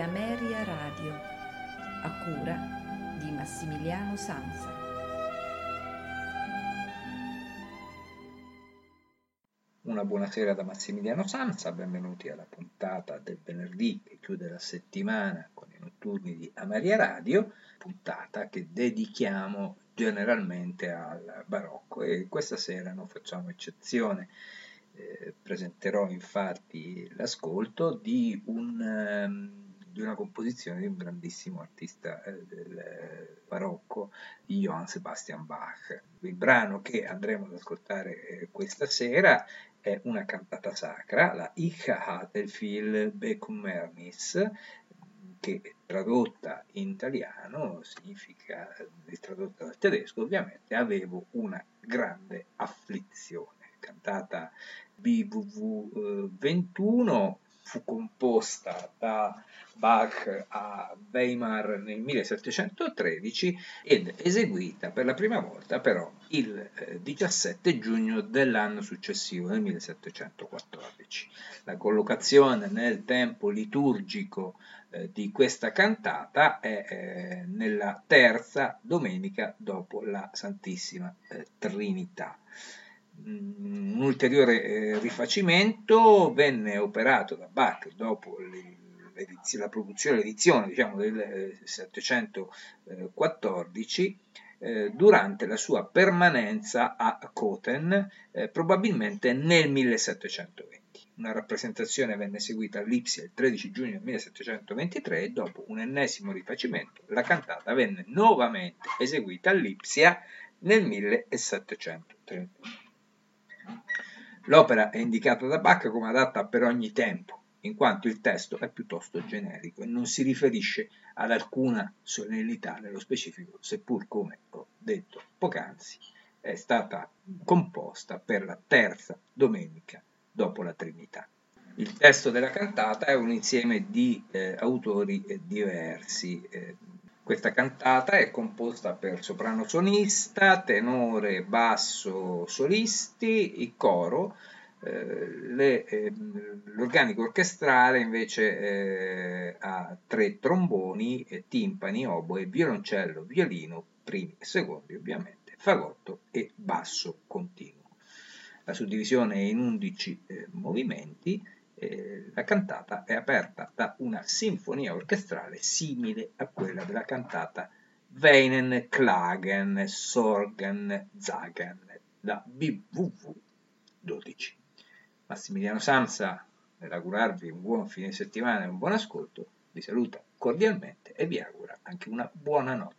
Ameria Radio, a cura di Massimiliano Sanza. Una buonasera da Massimiliano Sanza, benvenuti alla puntata del venerdì che chiude la settimana con i notturni di Ameria Radio, puntata che dedichiamo generalmente al barocco e questa sera non facciamo eccezione. Presenterò infatti l'ascolto di una composizione di un grandissimo artista del barocco, di Johann Sebastian Bach. Il brano che andremo ad ascoltare questa sera è una cantata sacra, la Ich hatte viel Bekummernis, che tradotta in italiano significa, tradotta dal tedesco ovviamente, avevo una grande afflizione. Cantata BWV 21, fu composta da Bach a Weimar nel 1713 ed eseguita per la prima volta però il 17 giugno dell'anno successivo, nel 1714. La collocazione nel tempo liturgico di questa cantata è nella terza domenica dopo la Santissima Trinità. Un ulteriore rifacimento venne operato da Bach dopo la produzione, l'edizione diciamo, del 714 durante la sua permanenza a Coten, probabilmente nel 1720. Una rappresentazione venne eseguita a Lipsia il 13 giugno 1723 e dopo un ennesimo rifacimento la cantata venne nuovamente eseguita a Lipsia nel 1731. L'opera è indicata da Bach come adatta per ogni tempo, in quanto il testo è piuttosto generico e non si riferisce ad alcuna solennità nello specifico, seppur, come ho detto poc'anzi, è stata composta per la terza domenica dopo la Trinità. Il testo della cantata è un insieme di autori diversi. Questa cantata è composta per soprano solista, tenore, basso, solisti, il coro. L'organico orchestrale invece ha 3 tromboni, timpani, oboe, violoncello, violino, primi e secondi ovviamente, fagotto e basso continuo. La suddivisione è in 11 movimenti. La cantata è aperta da una sinfonia orchestrale simile a quella della cantata Weinen, Klagen, Sorgen, Zagen, da BWV 12. Massimiliano Sanza, nell'augurarvi un buon fine settimana e un buon ascolto, vi saluta cordialmente e vi augura anche una buona notte.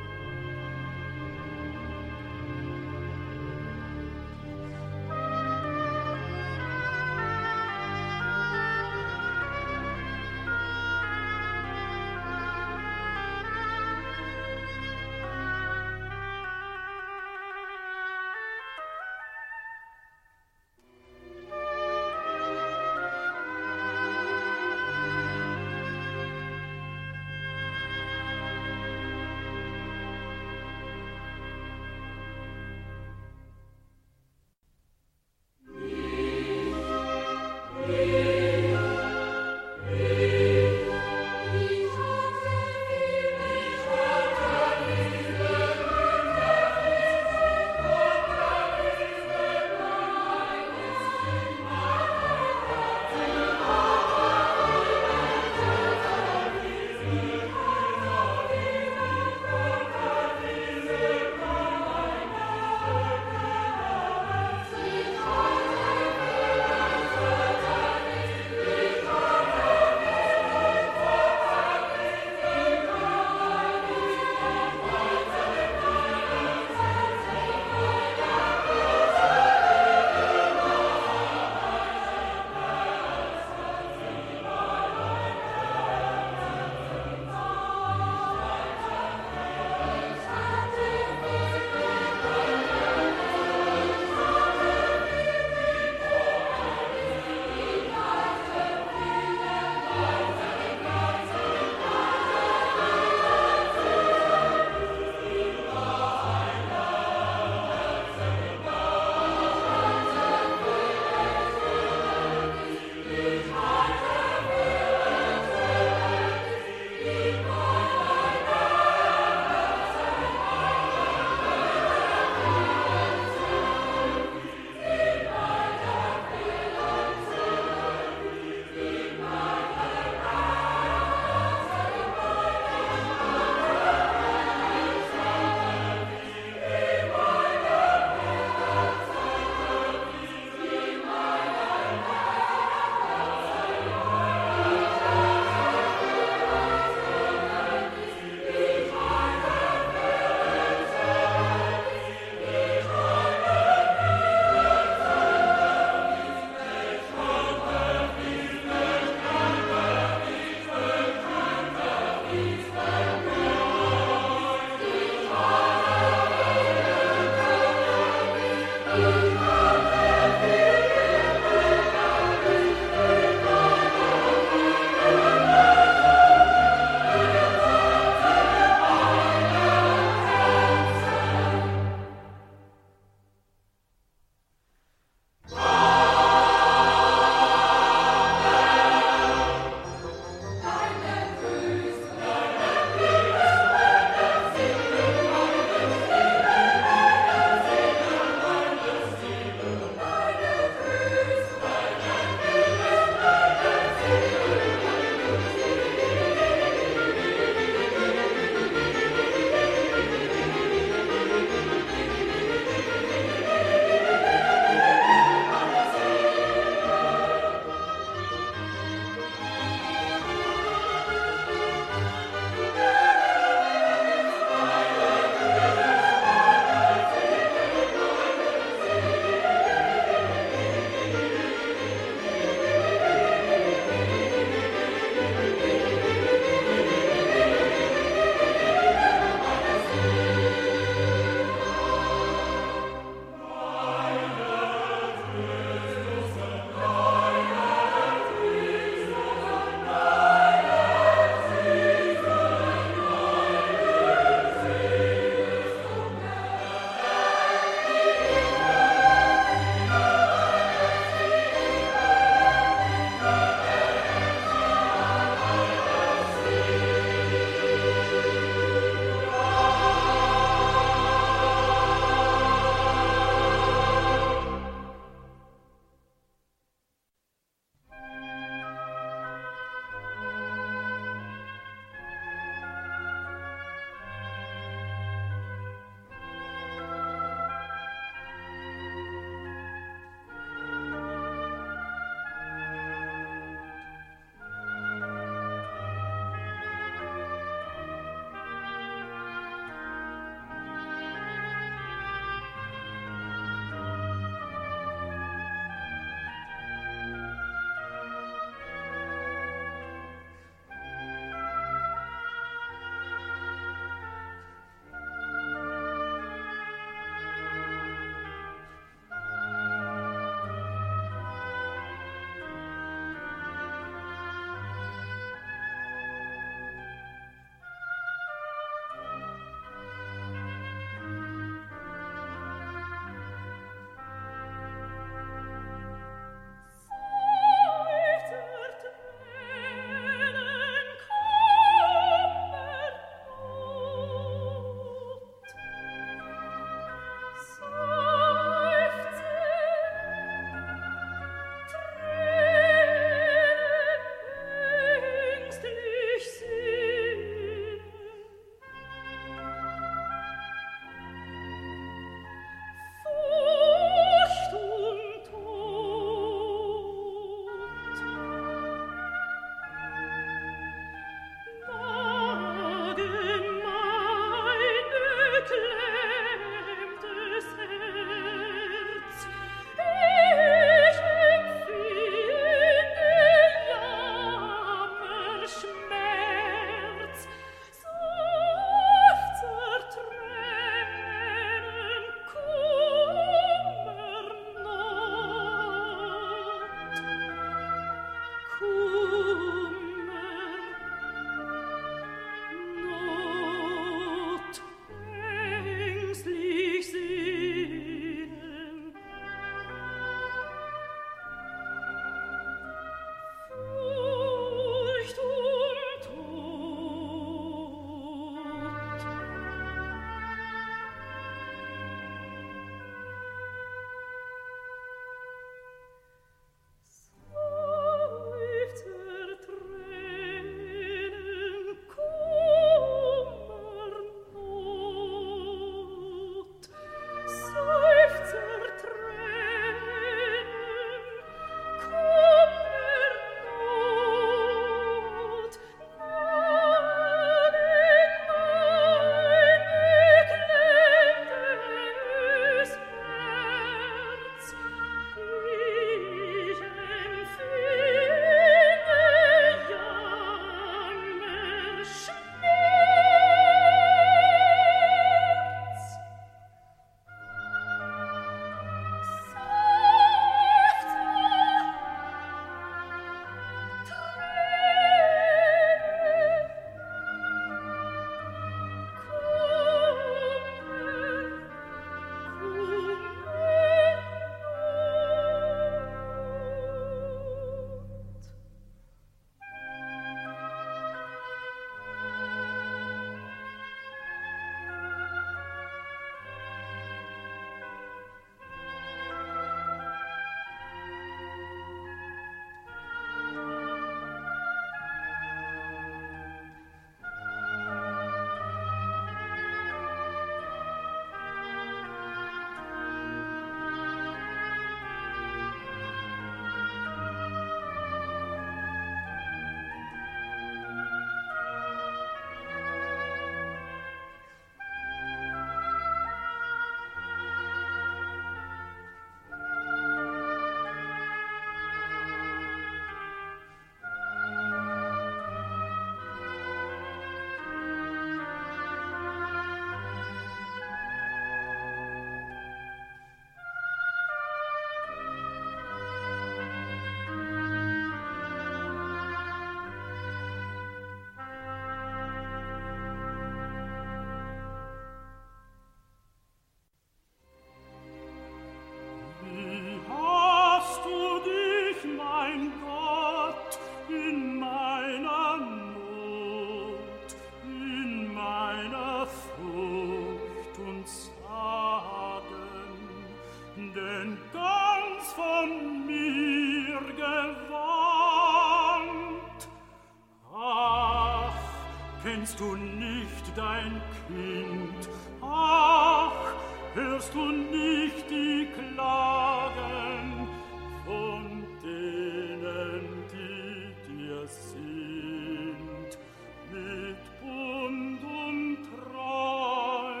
kennst du nicht dein Kind? Ach, hörst du nicht die Klagen von denen, die dir sind, mit Bund und Treu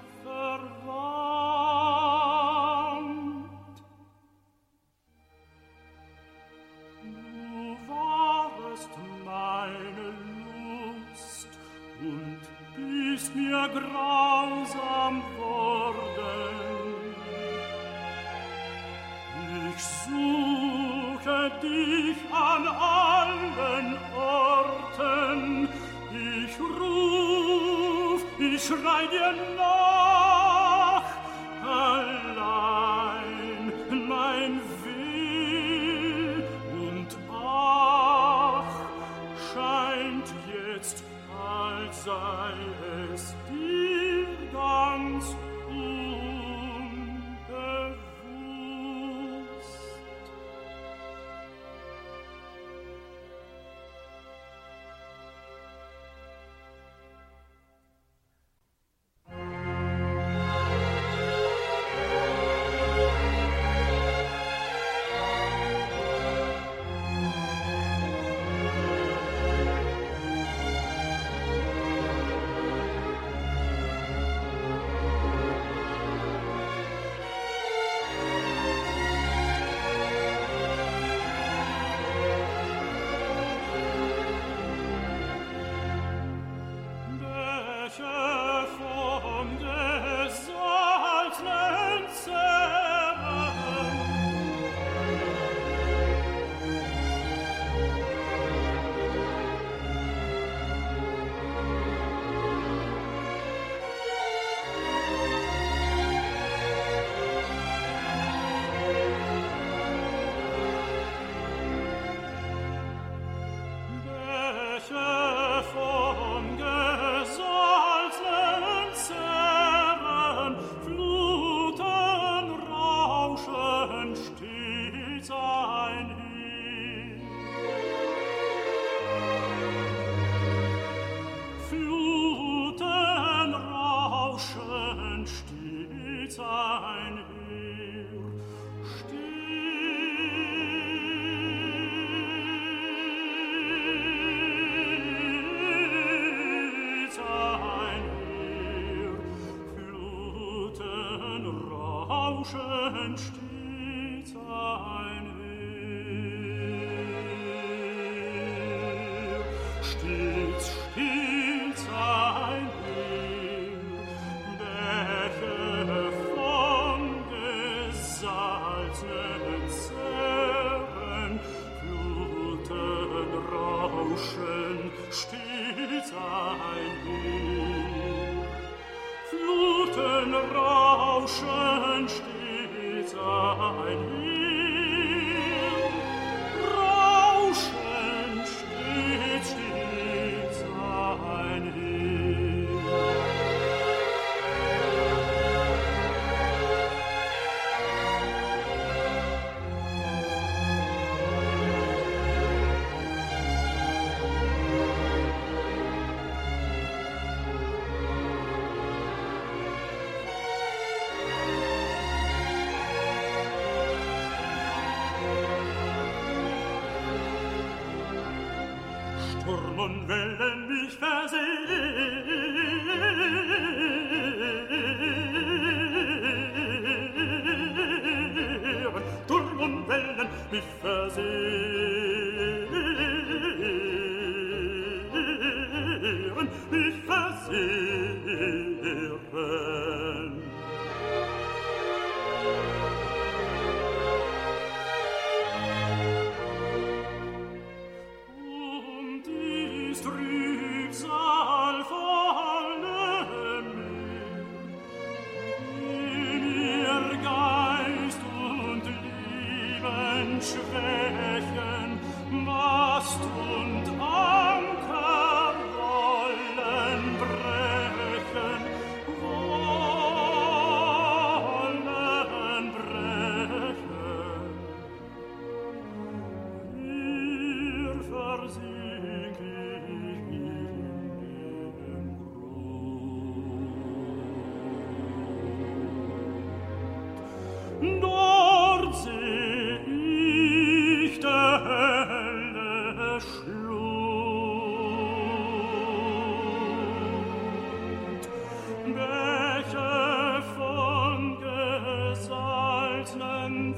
verwandt? Du warest meine Lust und bist mir grausam worden. Ich suche dich an allen Orten, ich ruf, ich schrei dir nach, allein mein Will und ach, scheint jetzt, als sei es dir ganz unbewusst. Bäche von gesalznen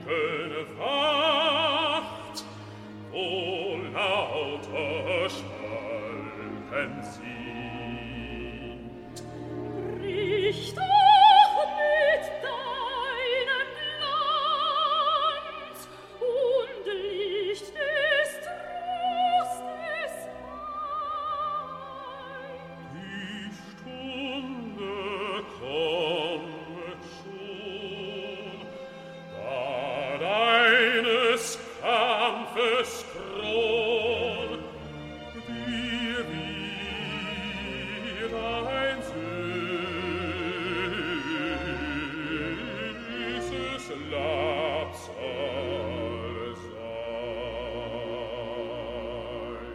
schöne Wacht, wo lauter Schalken singt. Brich doch mit deinem Glanz und Licht des Trostes ein. Die Stunde kommet schon, da deines Kampfes Kron dir wieder ein süßes Labsal sein.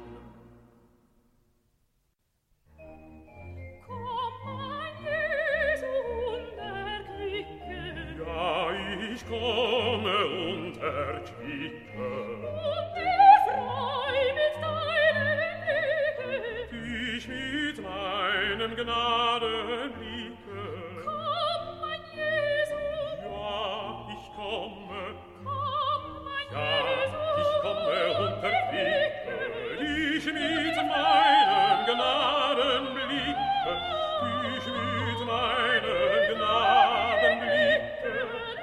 Komm, mein Jesu, und erquicke. Ja, ich komme und erquicke. Und erfreu mit deinem Blicke. Dich mit meinem Gnadenblicke. Komm, mein Jesu. Ja, ich komme. Komm, mein Jesu. Ja, ich komme und erquicke. Dich mit meinem Gnadenblicke. Dich mit meinem Gnadenblicke.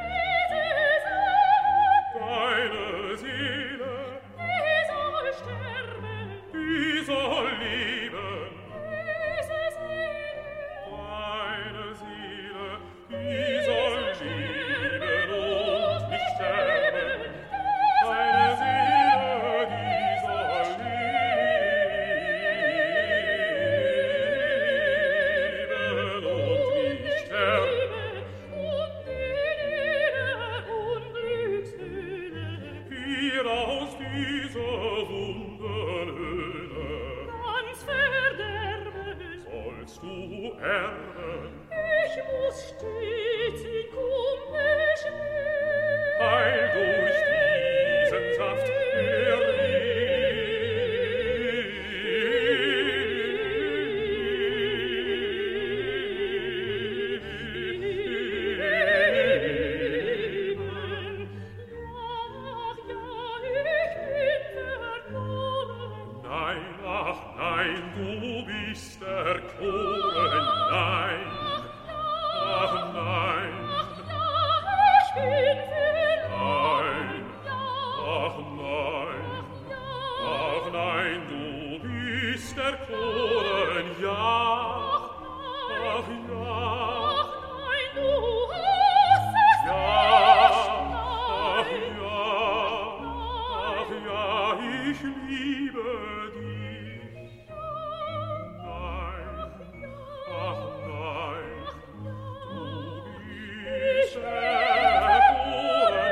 Deine Seele, die soll sterben, die soll leben. Diese Seele, deine Seele, die soll leben und nicht sterben. Deine Seele, die soll leben und nicht sterben. Und die Ehre und Glückshöhle, hier aus dieser Wunderhöhle, ganz verderben, sollst du erben. Ich muss stets in Kummer stehen, heil durch diesen Saft der Nein, du bist erkoren, nein. Ach nein. Ich bin verloren. Ach nein. Ach nein, du bist erkoren, ja. Ach ja. Ach nein, du hast es nicht. Ach ja, ich liebe dich. Nein, ach nein, du bist erkoren,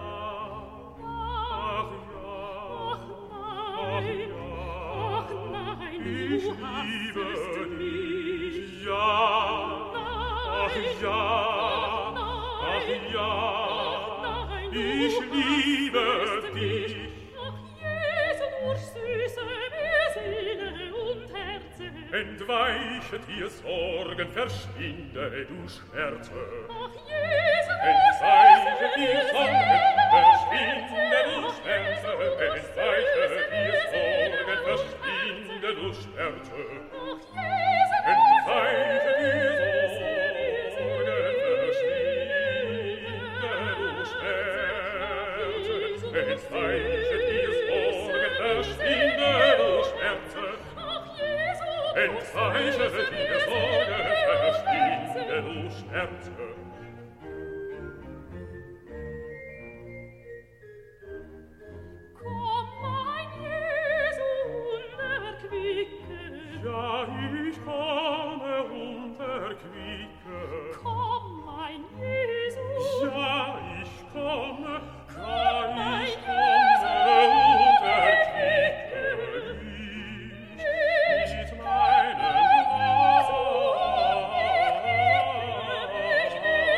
ach ja, ich liebe dich, ja, ach ja, ich liebe dich. Entweichet ihr Sorgen, verschwinde du Schmerze. Ach, Jesus, entweichet ihr Sorgen, verschwinde du Schmerze. Entweichet ihr Sorgen, verschwinde du Schmerze. Ach, Jesus, entweichet ihr Sorgen, verschwinde du Schmerze. Entweichet ihr Sorgen, verschwinde du Schmerze. Entweichet ihr Sorgen, verschwinde du Schmerze. Komm, mein Jesu, und erquicke. Ja, ich komme und erquicke. Komm, mein Jesus. Ja, ich komme. Ja, ich komme und erquicke dich mit meinem Gnadenblicke.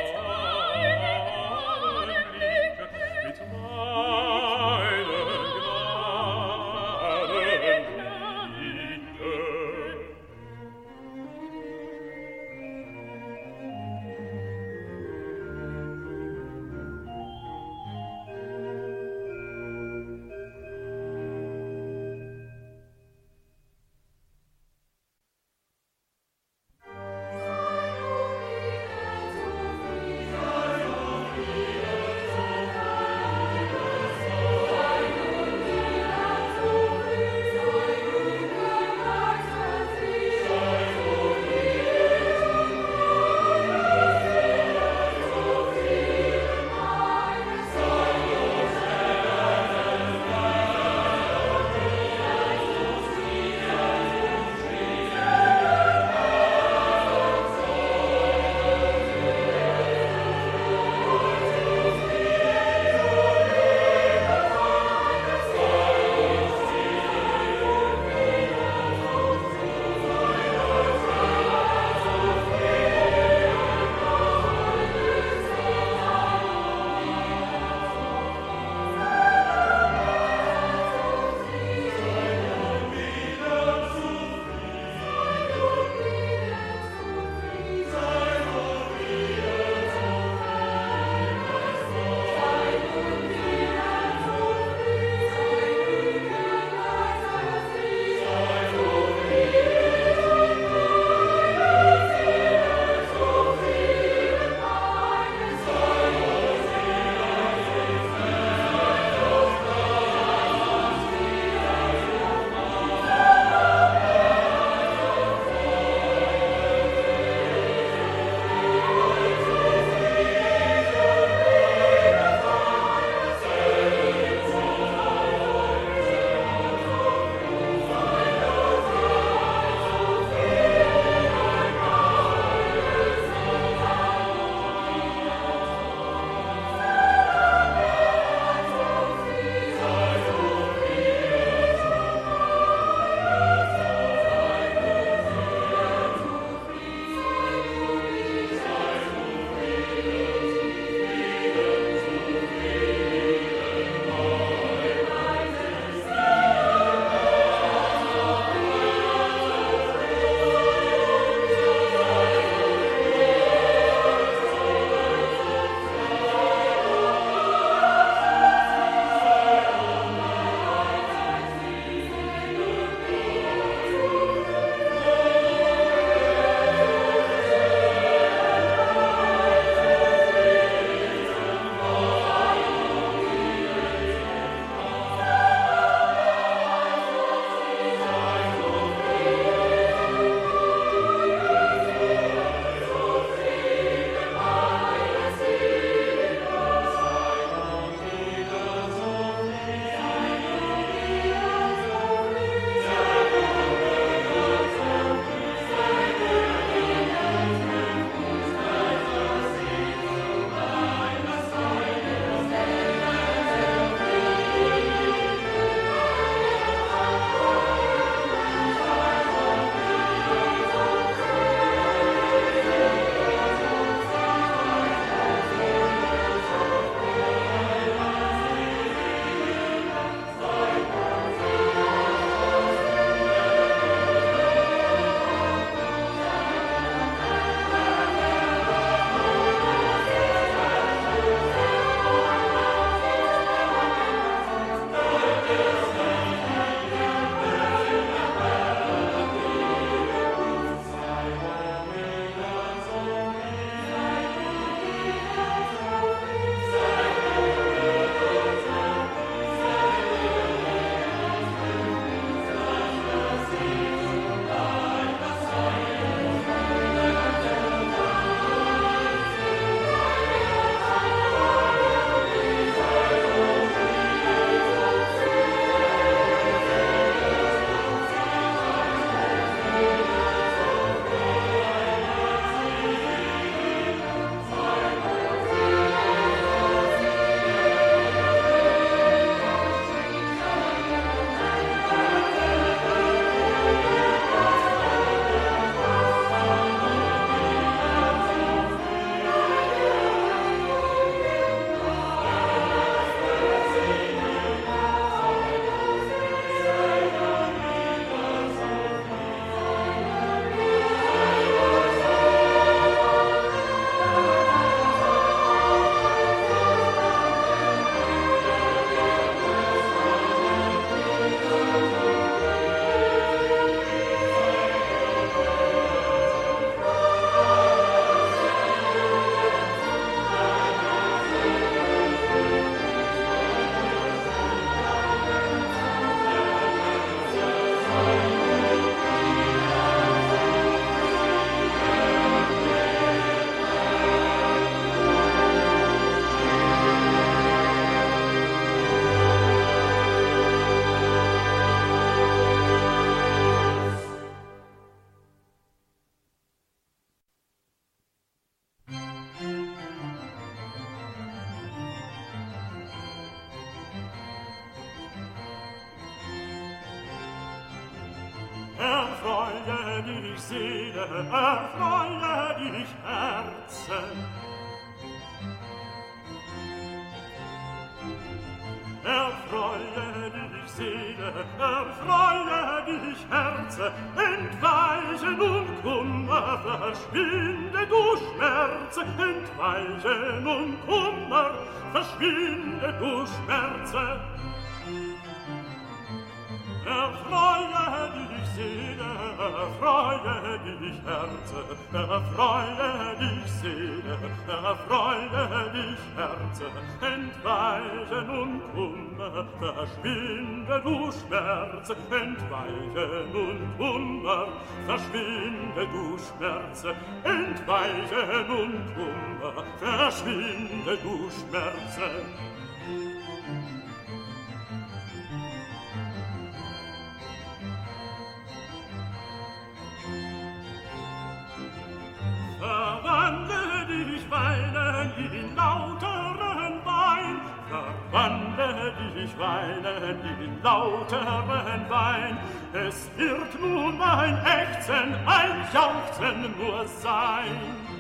Erfreue dich Seele, erfreue dich Herzen. Erfreue dich Seele, erfreue dich Herze, entweiche nun Kummer, verschwinde du Schmerze, entweiche nun Kummer, verschwinde du Schmerze. Erfreue dich Seele, erfreue dich Herze, erfreue dich Seele, erfreue dich Herze, entweiche nun Kummer, verschwinde du Schmerze, entweiche nun Kummer, verschwinde du Schmerze, entweiche nun Kummer, verschwinde du Schmerze. Verwandle dich weinen in lauteren Wein, verwandle dich weinen in lauteren Wein. Es wird nun ein Ächzen, ein Jauchzen nur sein.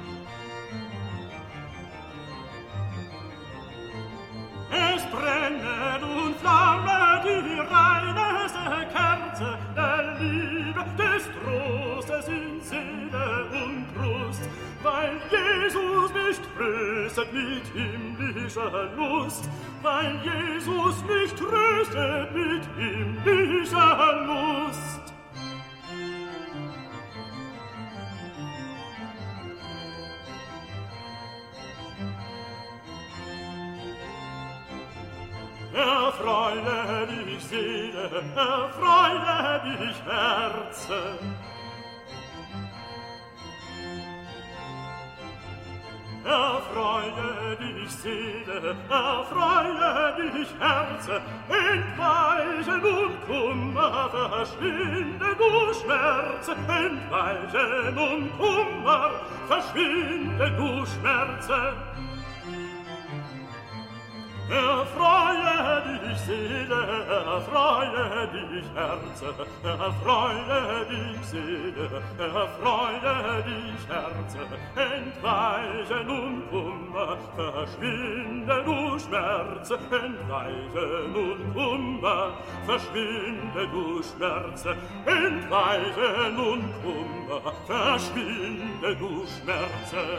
Es brenne und flamme die reineste Kerze der Liebe, des Trostes in Seele und Brust, weil Jesus mich tröstet mit himmlischer Lust, weil Jesus mich tröstet mit himmlischer Lust. Erfreue dich Seele, erfreue dich Herze. Erfreue dich Seele, erfreue dich Herze, entweiche nun Kummer, verschwinde du Schmerze, entweiche nun Kummer, verschwinde du Schmerze. Erfreue dich Seele, erfreue dich Herze, erfreue dich Seele, erfreue dich Herze, entweiche nun Kummer, verschwinde du Schmerze, entweiche nun Kummer, verschwinde du Schmerze, entweiche nun Kummer, verschwinde du Schmerze.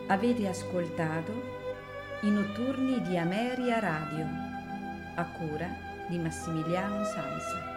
Avete ascoltato i notturni di Ameria Radio, a cura di Massimiliano Sansa.